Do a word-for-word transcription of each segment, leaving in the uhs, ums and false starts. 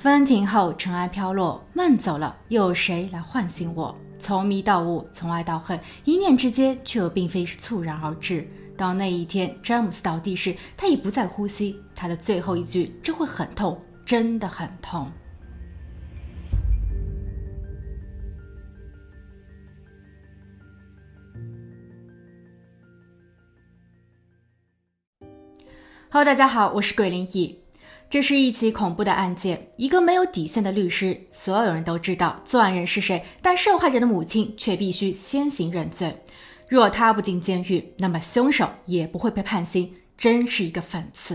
风停后尘埃飘落，梦走了，又有谁来唤醒我？从迷到悟，从爱到恨，一念之间，却又并非是猝然而至。到那一天詹姆斯倒地时，他已不再呼吸，他的最后一句这会很痛，真的很痛。Hello， 大家好，我是鬼灵异。这是一起恐怖的案件，一个没有底线的律师，所有人都知道作案人是谁，但受害者的母亲却必须先行认罪。若他不进监狱，那么凶手也不会被判刑，真是一个讽刺。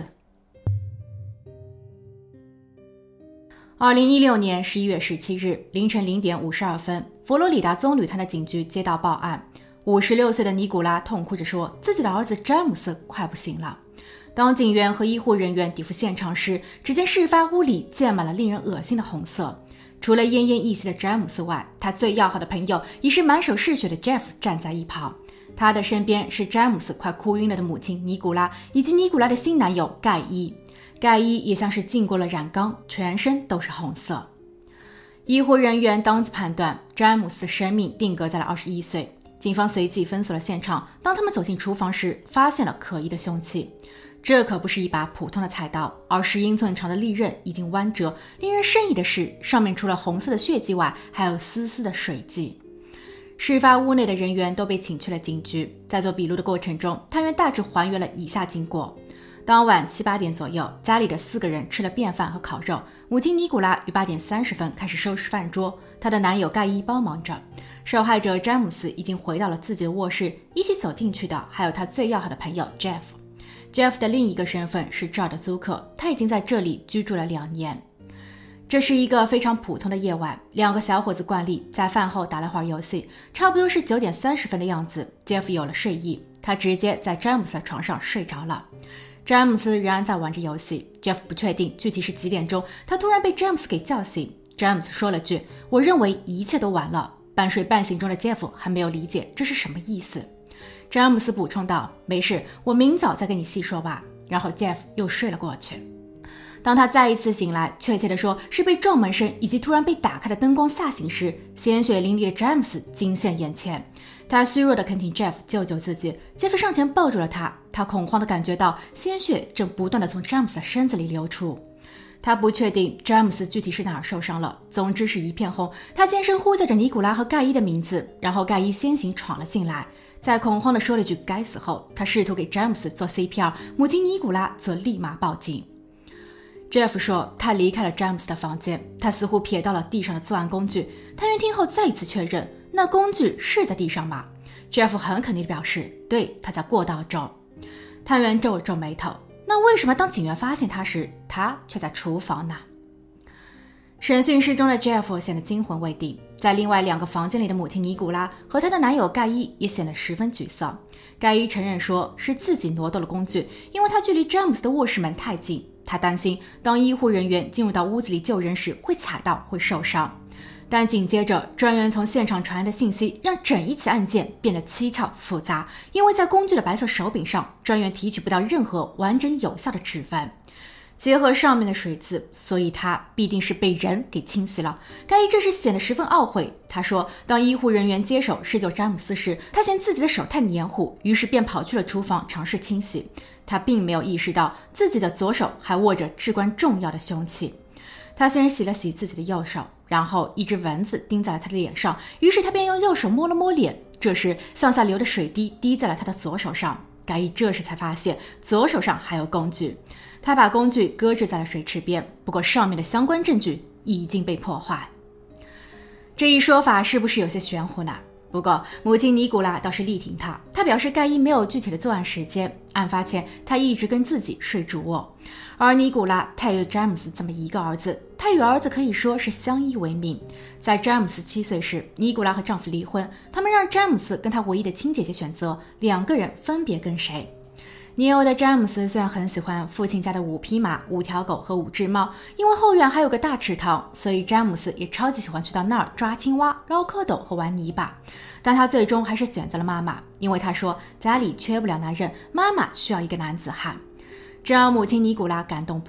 二零一六年十一月十七日凌晨零点五十二分，佛罗里达棕榈滩的警局接到报案，五十六岁的尼古拉痛哭着说，自己的儿子詹姆斯快不行了。当警员和医护人员抵赴现场时，只见事发屋里溅满了令人恶心的红色。除了奄奄一息的詹姆斯外，他最要好的朋友已是满手是血的 Jeff 站在一旁。他的身边是詹姆斯快哭晕了的母亲尼古拉，以及尼古拉的新男友盖伊。盖伊也像是浸过了染缸，全身都是红色。医护人员当即判断詹姆斯的生命定格在了二十一岁。警方随即封锁了现场，当他们走进厨房时，发现了可疑的凶器。这可不是一把普通的菜刀，而是英寸长的利刃已经弯折。令人生疑的是，上面除了红色的血迹外，还有丝丝的水迹。事发屋内的人员都被请去了警局，在做笔录的过程中，探员大致还原了以下经过。当晚七八点左右，家里的四个人吃了便饭和烤肉，母亲尼古拉于八点三十分开始收拾饭桌，她的男友盖伊帮忙着。受害者詹姆斯已经回到了自己的卧室，一起走进去的还有他最要好的朋友 Jeff。Jeff 的另一个身份是这儿的租客，他已经在这里居住了两年。这是一个非常普通的夜晚，两个小伙子惯例在饭后打了会儿游戏，差不多是九点三十分的样子。Jeff 有了睡意，他直接在詹姆斯的床上睡着了。詹姆斯仍然在玩着游戏 ，Jeff 不确定具体是几点钟，他突然被詹姆斯给叫醒。詹姆斯说了句：“我认为一切都完了。”半睡半醒中的 Jeff 还没有理解这是什么意思。詹姆斯补充道：“没事，我明早再跟你细说吧。”然后 Jeff 又睡了过去。当他再一次醒来，确切地说是被撞门声以及突然被打开的灯光吓醒时，鲜血淋漓的詹姆斯惊现眼前。他虚弱地恳请 Jeff 救救自己 ，Jeff 上前抱住了他。他恐慌地感觉到鲜血正不断地从詹姆斯的身子里流出。他不确定詹姆斯具体是哪儿受伤了，总之是一片红。他尖声呼叫着尼古拉和盖伊的名字，然后盖伊先行闯了进来，在恐慌地说了句该死后，他试图给詹姆斯做 C P R， 母亲尼古拉则立马报警。Jeff 说他离开了詹姆斯的房间，他似乎瞥到了地上的作案工具。探员听后再一次确认，那工具是在地上吗？ Jeff 很肯定地表示，对，他在过道中。探员皱了皱眉头，那为什么当警员发现他时，他却在厨房呢？审讯室中的 Jeff 显得惊魂未定，在另外两个房间里的母亲尼古拉和她的男友盖伊也显得十分沮丧。盖伊承认说是自己挪动了工具，因为他距离詹姆斯的卧室门太近，他担心当医护人员进入到屋子里救人时会踩到会受伤。但紧接着专员从现场传来的信息让整一起案件变得蹊跷复杂，因为在工具的白色手柄上，专员提取不到任何完整有效的指纹。结合上面的水渍，所以他必定是被人给清洗了。盖伊这时显得十分懊悔，他说当医护人员接手施救詹姆斯时，他嫌自己的手太黏糊，于是便跑去了厨房尝试清洗。他并没有意识到自己的左手还握着至关重要的凶器。他先洗了洗自己的右手，然后一只蚊子叮在了他的脸上，于是他便用右手摸了摸脸，这时向下流的水滴滴在了他的左手上。盖伊这时才发现左手上还有工具，他把工具搁置在了水池边，不过上面的相关证据已经被破坏。这一说法是不是有些玄乎呢？不过母亲尼古拉倒是力挺他，他表示盖伊没有具体的作案时间，案发前他一直跟自己睡主卧。而尼古拉他有詹姆斯这么一个儿子，他与儿子可以说是相依为命。在詹姆斯七岁时，尼古拉和丈夫离婚，他们让詹姆斯跟他唯一的亲姐姐选择，两个人分别跟谁。年幼的詹姆斯虽然很喜欢父亲家的五匹马、五条狗和五只猫，因为后院还有个大池塘，所以詹姆斯也超级喜欢去到那儿抓青蛙、捞蝌蚪和玩泥巴。但他最终还是选择了妈妈，因为他说家里缺不了男人，妈妈需要一个男子汉。这让母亲尼古拉感动不已，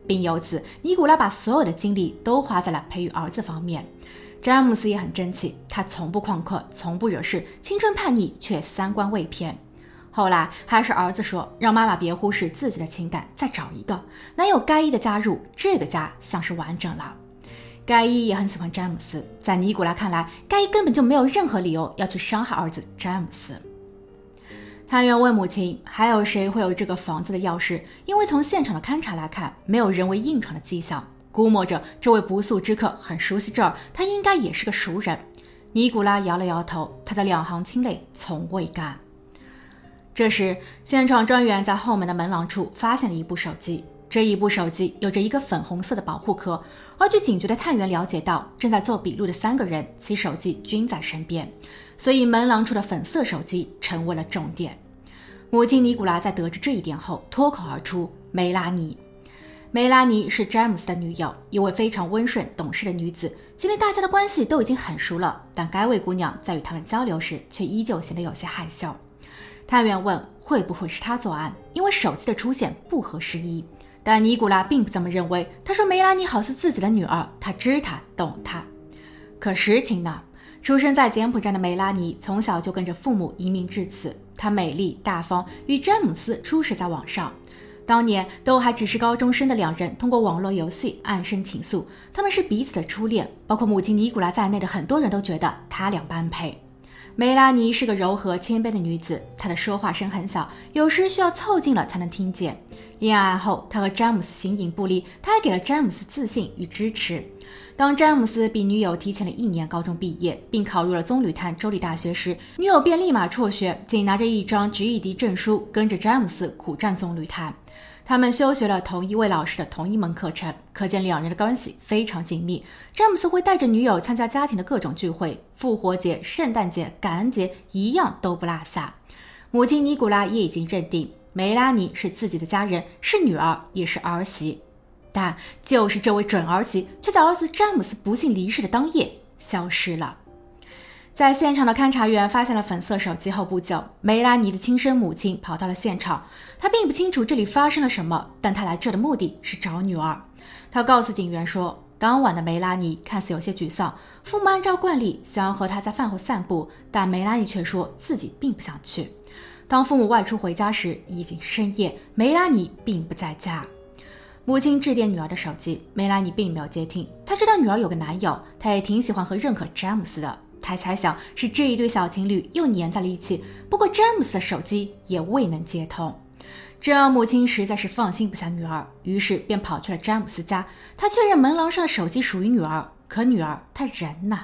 并由此尼古拉把所有的精力都花在了培育儿子方面。詹姆斯也很争气，他从不旷课，从不惹事，青春叛逆却三观未偏。后来还是儿子说，让妈妈别忽视自己的情感，再找一个。男友盖伊的加入，这个家像是完整了。盖伊也很喜欢詹姆斯，在尼古拉看来，盖伊根本就没有任何理由要去伤害儿子詹姆斯。探员问母亲，还有谁会有这个房子的钥匙？因为从现场的勘查来看，没有人为硬闯的迹象，估摸着这位不速之客很熟悉这儿，他应该也是个熟人。尼古拉摇了摇头，他的两行清泪从未干。这时，现场专员在后门的门廊处发现了一部手机，这一部手机有着一个粉红色的保护壳，而据警局的探员了解到，正在做笔录的三个人其手机均在身边，所以门廊处的粉色手机成为了重点。母亲尼古拉在得知这一点后脱口而出，梅拉尼。梅拉尼是詹姆斯的女友，一位非常温顺懂事的女子，即便大家的关系都已经很熟了，但该位姑娘在与他们交流时却依旧显得有些害羞。探员问会不会是她作案，因为手机的出现不合时宜，但尼古拉并不这么认为，他说梅拉尼好似自己的女儿，他知她懂她。可实情呢？出生在柬埔寨的梅拉尼从小就跟着父母移民至此，她美丽大方，与詹姆斯初识在网上。当年都还只是高中生的两人通过网络游戏暗生情愫，他们是彼此的初恋，包括母亲尼古拉在内的很多人都觉得他俩般配。梅拉尼是个柔和谦卑的女子，她的说话声很小，有时需要凑近了才能听见。恋爱后，她和詹姆斯形影不离，她还给了詹姆斯自信与支持。当詹姆斯比女友提前了一年高中毕业，并考入了棕榈滩州立大学时，女友便立马辍学，仅拿着一张 G E D 证书，跟着詹姆斯苦战棕榈滩。他们修学了同一位老师的同一门课程，可见两人的关系非常紧密。詹姆斯会带着女友参加家庭的各种聚会，复活节、圣诞节、感恩节一样都不落下。母亲尼古拉也已经认定梅拉尼是自己的家人，是女儿也是儿媳，但就是这位准儿媳却在儿子詹姆斯不幸离世的当夜消失了。在现场的勘查员发现了粉色手机后不久，梅拉尼的亲生母亲跑到了现场。她并不清楚这里发生了什么，但她来这的目的是找女儿。她告诉警员说，当晚的梅拉尼看似有些沮丧，父母按照惯例想要和她在饭后散步，但梅拉尼却说自己并不想去。当父母外出回家时，已经深夜，梅拉尼并不在家。母亲致电女儿的手机，梅拉尼并没有接听。她知道女儿有个男友，她也挺喜欢和认可詹姆斯的。他猜想是这一对小情侣又黏在了一起，不过詹姆斯的手机也未能接通，这让母亲实在是放心不下女儿，于是便跑去了詹姆斯家。他确认门廊上的手机属于女儿，可女儿她人呢？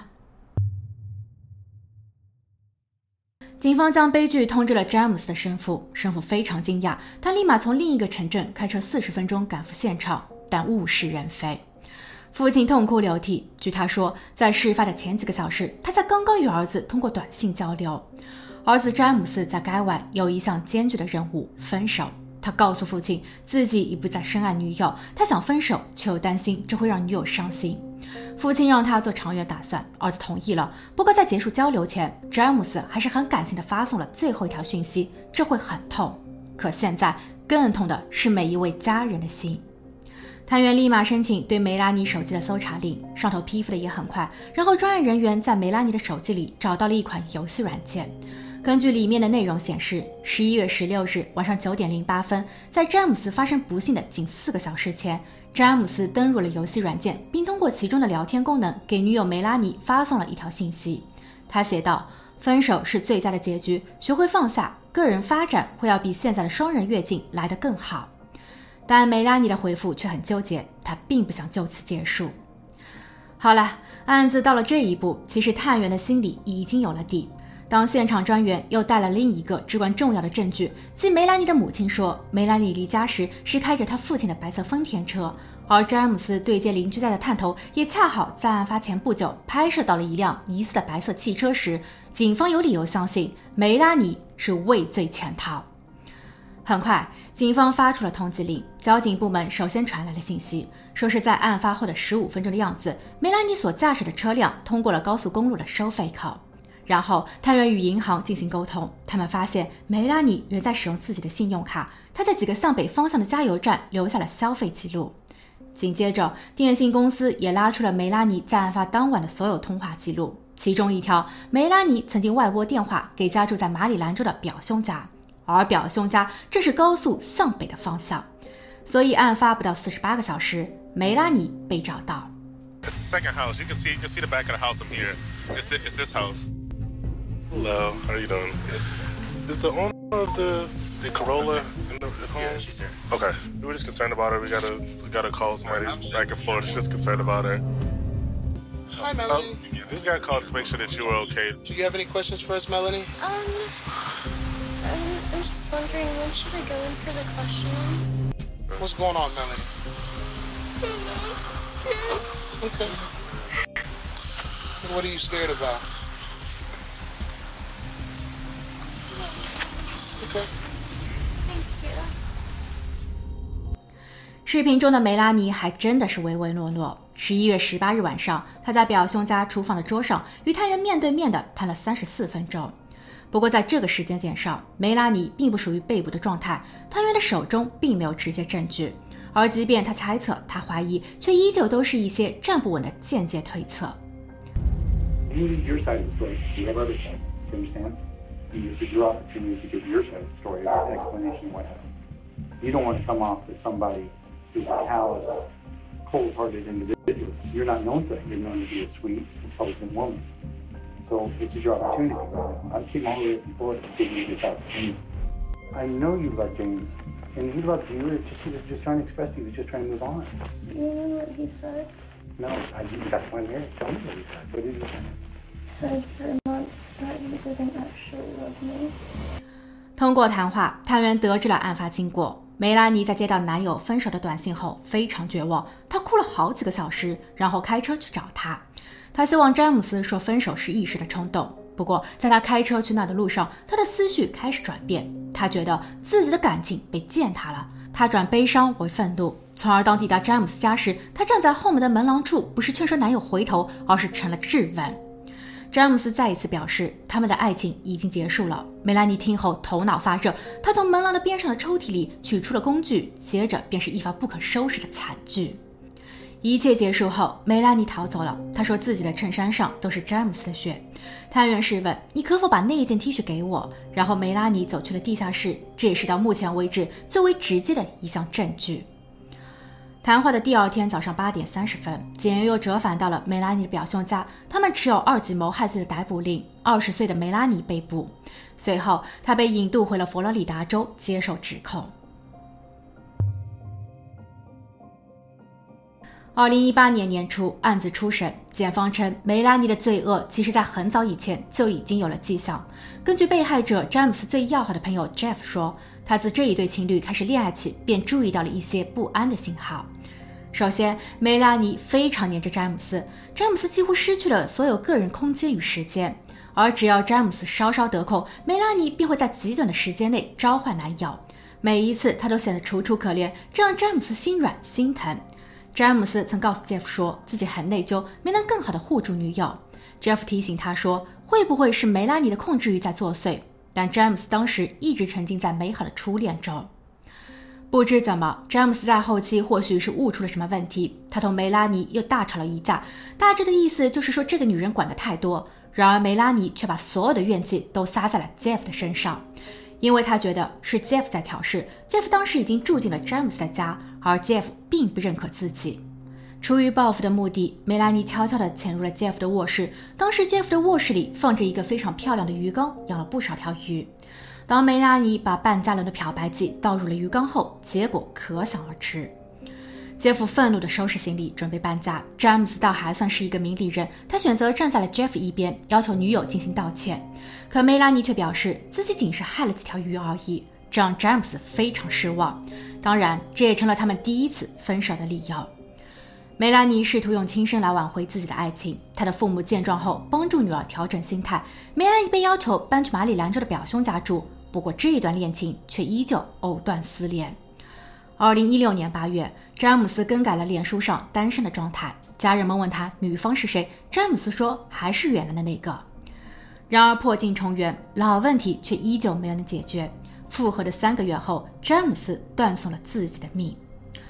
警方将悲剧通知了詹姆斯的生父，生父非常惊讶，他立马从另一个城镇开车四十分钟赶赴现场，但物是人非。父亲痛哭流涕，据他说，在事发的前几个小时，他才刚刚与儿子通过短信交流。儿子詹姆斯在该外有一项艰巨的任务，分手。他告诉父亲，自己已不再深爱女友，他想分手，却又担心这会让女友伤心。父亲让他做长远打算，儿子同意了。不过在结束交流前，詹姆斯还是很感性地发送了最后一条讯息，这会很痛。可现在更痛的是每一位家人的心。探员立马申请对梅拉尼手机的搜查令，上头批复的也很快。然后专业人员在梅拉尼的手机里找到了一款游戏软件。根据里面的内容显示，十一月十六日晚上九点零八分，在詹姆斯发生不幸的仅四个小时前，詹姆斯登入了游戏软件，并通过其中的聊天功能给女友梅拉尼发送了一条信息。他写道：分手是最佳的结局，学会放下，个人发展会要比现在的双人跃进来得更好。但梅拉尼的回复却很纠结，她并不想就此结束。好了，案子到了这一步，其实探员的心里已经有了底。当现场专员又带来另一个至关重要的证据，即梅拉尼的母亲说，梅拉尼离家时是开着他父亲的白色丰田车，而詹姆斯对接邻居家的探头也恰好在案发前不久拍摄到了一辆疑似的白色汽车时，警方有理由相信梅拉尼是畏罪潜逃。很快，警方发出了通缉令。交警部门首先传来了信息，说是在案发后的十五分钟的样子，梅拉尼所驾驶的车辆通过了高速公路的收费口。然后探员与银行进行沟通，他们发现梅拉尼原在使用自己的信用卡，她在几个向北方向的加油站留下了消费记录。 紧接着，电信公司也拉出了梅拉尼在案发当晚的所有通话记录，其中一条，梅拉尼曾经外拨电话给家住在马里兰州的表兄家，而表兄家正是高速向北的方向，所以案发不到四十八个小时，梅拉尼被找到。 It's the second house. You can see, you can see the back of the house from here. It's, the, it's this house. Hello, how are you doing? Is the owner of the the Corolla in the at home? Yeah, she's there. Okay, we were just concerned about her. We gotta we gotta call somebody back in Florida. Just concerned about her. Hi, Melanie. Um, we just gotta call to make sure that you were okay. Do you have any questions for us, Melanie? Um, I'm, I'm just wondering, when should I go in for the questioning? What's going on, Melanie? I don't know, I'm just scared. Okay. What are you scared about? Okay. Thank you. 视频中的梅拉尼还真的是唯唯诺诺。十一月十八日晚上，她在表兄家厨房的桌上与探员面对面的谈了三十四分钟。不过在这个时间点上，梅拉尼并不属于被捕的状态，探员的手中并没有直接证据，而即便他猜测，他怀疑，却依旧都是一些站不稳的间接推测。 You need your side of the story. You have other side. Do you understand? This is your opportunity to give your side of the story, an explanation of what happened. You don't want to come off as somebody who's a callous, cold-hearted individual. You're not known for that. You're known to be a sweet, intelligent woman. So this is your opportunity. I came all the way from Florida to give you this opportunity. I know you love James, and he loved you. It's just he was just trying to express to you. He was just trying to move on. You know what he said? No, I, that's why I'm here. Tell me what he said. What did he say? He said for months that he didn't actually love me. 通过谈话，探员得知了案发经过。梅拉尼在接到男友分手的短信后非常绝望，她哭了好几个小时，然后开车去找他。她希望詹姆斯说分手是一时的冲动，不过在她开车去那的路上，她的思绪开始转变，她觉得自己的感情被践踏了，她转悲伤为愤怒，从而当抵达詹姆斯家时，她站在后门的门廊处，不是劝说男友回头，而是成了质问。詹姆斯再一次表示他们的爱情已经结束了。梅拉尼听后头脑发热，她从门廊的边上的抽屉里取出了工具，接着便是一发不可收拾的惨剧。一切结束后，梅拉尼逃走了。她说自己的衬衫上都是詹姆斯的血。探员试问你可否把那一件 T 恤给我，然后梅拉尼走去了地下室，这也是到目前为止最为直接的一项证据。谈话的第二天早上八点三十分，检员又折返到了梅拉尼的表兄家，他们持有二级谋害罪的逮捕令，二十岁的梅拉尼被捕。随后，他被引渡回了佛罗里达州接受指控。二零一八年年初，案子初审，检方称梅拉尼的罪恶其实在很早以前就已经有了迹象。根据被害者詹姆斯最要好的朋友 Jeff 说，他自这一对情侣开始恋爱起，便注意到了一些不安的信号。首先，梅拉尼非常黏着詹姆斯，詹姆斯几乎失去了所有个人空间与时间，而只要詹姆斯稍稍得空，梅拉尼便会在极短的时间内召唤男友。每一次他都显得楚楚可怜，这让詹姆斯心软心疼。詹姆斯曾告诉 Jeff 说自己很内疚，没能更好地护住女友。Jeff 提醒他说，会不会是梅拉尼的控制欲在作祟？但詹姆斯当时一直沉浸在美好的初恋中。不知怎么，詹姆斯在后期或许是悟出了什么问题，他同梅拉尼又大吵了一架，大致的意思就是说这个女人管得太多。然而梅拉尼却把所有的怨气都撒在了 Jeff 的身上，因为他觉得是 Jeff 在挑事。Jeff 当时已经住进了詹姆斯的家，而 Jeff 并不认可自己。出于报复的目的，梅拉尼悄悄地潜入了 Jeff 的卧室。当时 Jeff 的卧室里放着一个非常漂亮的鱼缸，养了不少条鱼。当梅拉尼把半加仑的漂白剂倒入了鱼缸后，结果可想而知。杰夫愤怒地收拾行李准备搬家，詹姆斯倒还算是一个明理人，他选择站在了 Jeff 一边，要求女友进行道歉。可梅拉尼却表示自己仅是害了几条鱼而已，这让詹姆斯非常失望。当然，这也成了他们第一次分手的理由。梅拉尼试图用轻生来挽回自己的爱情，她的父母见状后帮助女儿调整心态。梅拉尼被要求搬去马里兰州的表兄家住，不过这一段恋情却依旧藕断丝连。二零一六年八月，詹姆斯更改了脸书上单身的状态，家人们问他女方是谁，詹姆斯说还是原来的那个。然而破镜重圆，老问题却依旧没有能解决。复合的三个月后，詹姆斯断送了自己的命。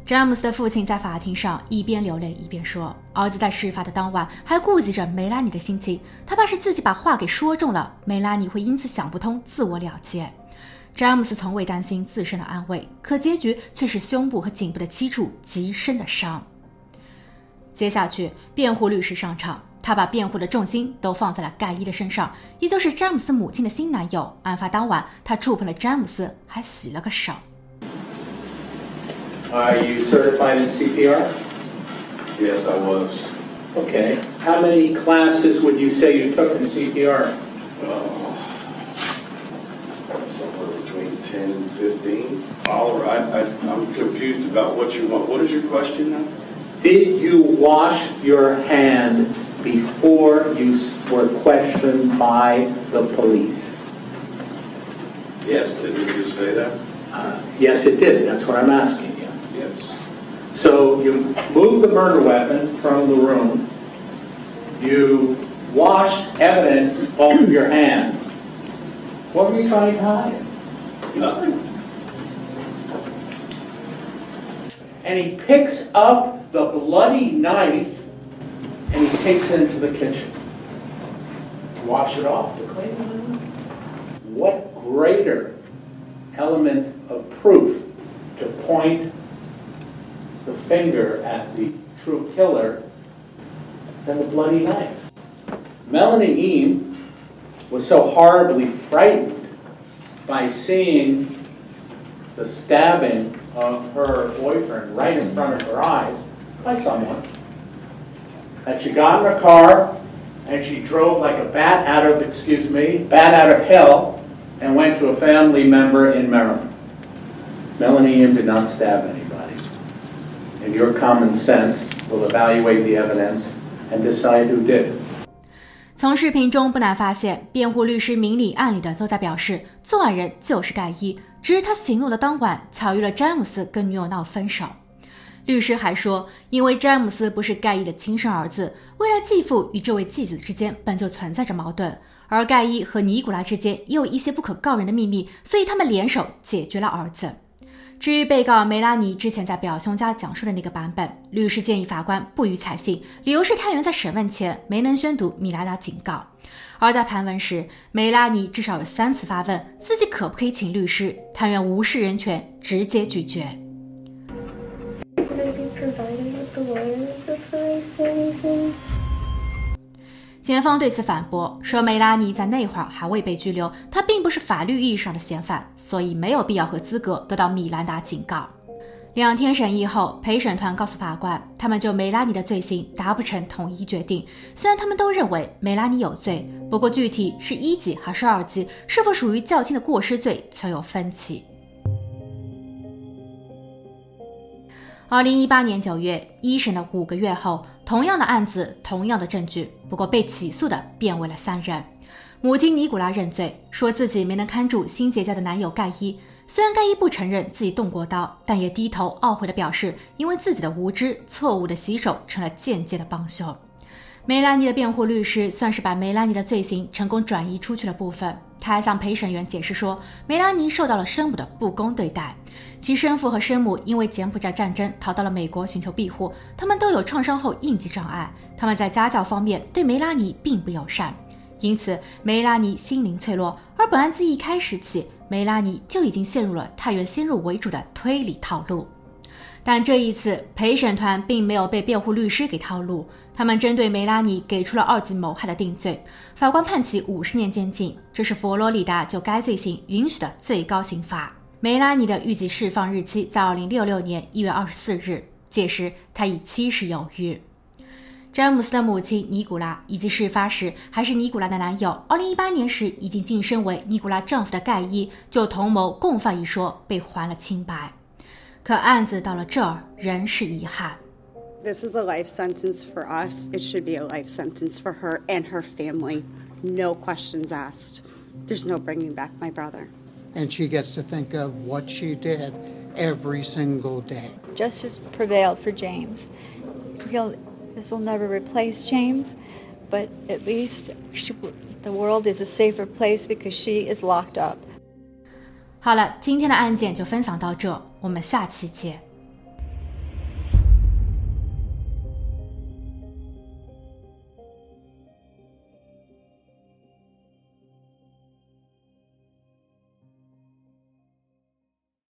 詹姆斯的父亲在法庭上一边流泪一边说，儿子在事发的当晚还顾及着梅拉尼的心情，他怕是自己把话给说中了，梅拉尼会因此想不通，自我了结。詹姆斯从未担心自身的安危，可结局却是胸部和颈部的七处极深的伤。接下去，辩护律师上场，他把辩护的重心都放在了盖伊的身上，也就是詹姆斯母亲的新男友。案发当晚，他触碰了詹姆斯，还洗了个手。 Are you certified in C P R? Yes, I was. Okay. How many classes would you say you took in C P R? Uh, somewhere between ten and fifteen. All right, I, I'm confused about what you want. What is your question now? Did you wash your hand before you were questioned by the police? Yes, did you just say that? Uh, yes, it did. That's what I'm asking you. Yes. So you moved the murder weapon from the room. You washed evidence off of your hand. What were you trying to hide? Nothing. And he picks up the bloody knife and he takes it into the kitchen. Wash it off to clean it. What greater element of proof to point the finger at the true killer than the bloody knife? Melanie Eames was so horribly frightened by seeing the stabbing of her boyfriend right in front of her eyes by someone that she got in her car and she drove like a bat out of, excuse me, bat out of hell and went to a family member in Maryland. Melanie Eames did not stab anybody. And your common sense will evaluate the evidence and decide who did. 从视频中不难发现，辩护律师明里暗里的都在表示，作案人就是盖伊，只是他行动的当晚巧遇了詹姆斯跟女友闹分手。律师还说，因为詹姆斯不是盖伊的亲生儿子，未来继父与这位继子之间本就存在着矛盾，而盖伊和尼古拉之间也有一些不可告人的秘密，所以他们联手解决了儿子。至于被告梅拉尼之前在表兄家讲述的那个版本，律师建议法官不予采信，理由是探员在审问前没能宣读米拉达警告。而在盘问时，梅拉尼至少有三次发问自己可不可以请律师，探员无视人权，直接拒绝。检方对此反驳说，梅拉尼在那会儿还未被拘留，她并不是法律意义上的嫌犯，所以没有必要和资格得到米兰达警告。两天审议后，陪审团告诉法官，他们就梅拉尼的罪行达不成统一决定。虽然他们都认为梅拉尼有罪，不过具体是一级还是二级，是否属于较轻的过失罪存有分歧。二零一八年九月，一审的五个月后，同样的案子，同样的证据，不过被起诉的变为了三人。母亲尼古拉认罪，说自己没能看住新结交的男友盖伊。虽然盖伊不承认自己动过刀，但也低头懊悔地表示，因为自己的无知，错误的洗手成了间接的帮凶。梅拉尼的辩护律师算是把梅拉尼的罪行成功转移出去了部分。他还向陪审员解释说，梅拉尼受到了生母的不公对待，其生父和生母因为柬埔寨战争逃到了美国寻求庇护，他们都有创伤后应激障碍，他们在家教方面对梅拉尼并不友善，因此梅拉尼心灵脆弱。而本案自一开始起，梅拉尼就已经陷入了太原先入为主的推理套路。但这一次陪审团并没有被辩护律师给套路，他们针对梅拉尼给出了二级谋害的定罪，法官判其五十年监禁，这是佛罗里达就该罪行允许的最高刑罚。梅拉尼的预计释放日期在二零六六年一月二十四日，届时他已七十有余。詹姆斯的母亲尼古拉以及事发时还是尼古拉的男友，二零一八年时已经晋升为尼古拉丈夫的盖伊，就同谋共犯一说被还了清白。可案子到了这儿仍是遗憾。 This is a life sentence for us. It should be a life sentence for her and her family. No questions asked. There's no bringing back my brother. And she gets to think of what she did every single day. Justice prevailed for James. He'll, this will never replace James, but at least she, the world is a safer place because she is locked up. 好了，今天的案件就分享到这，我们下期见。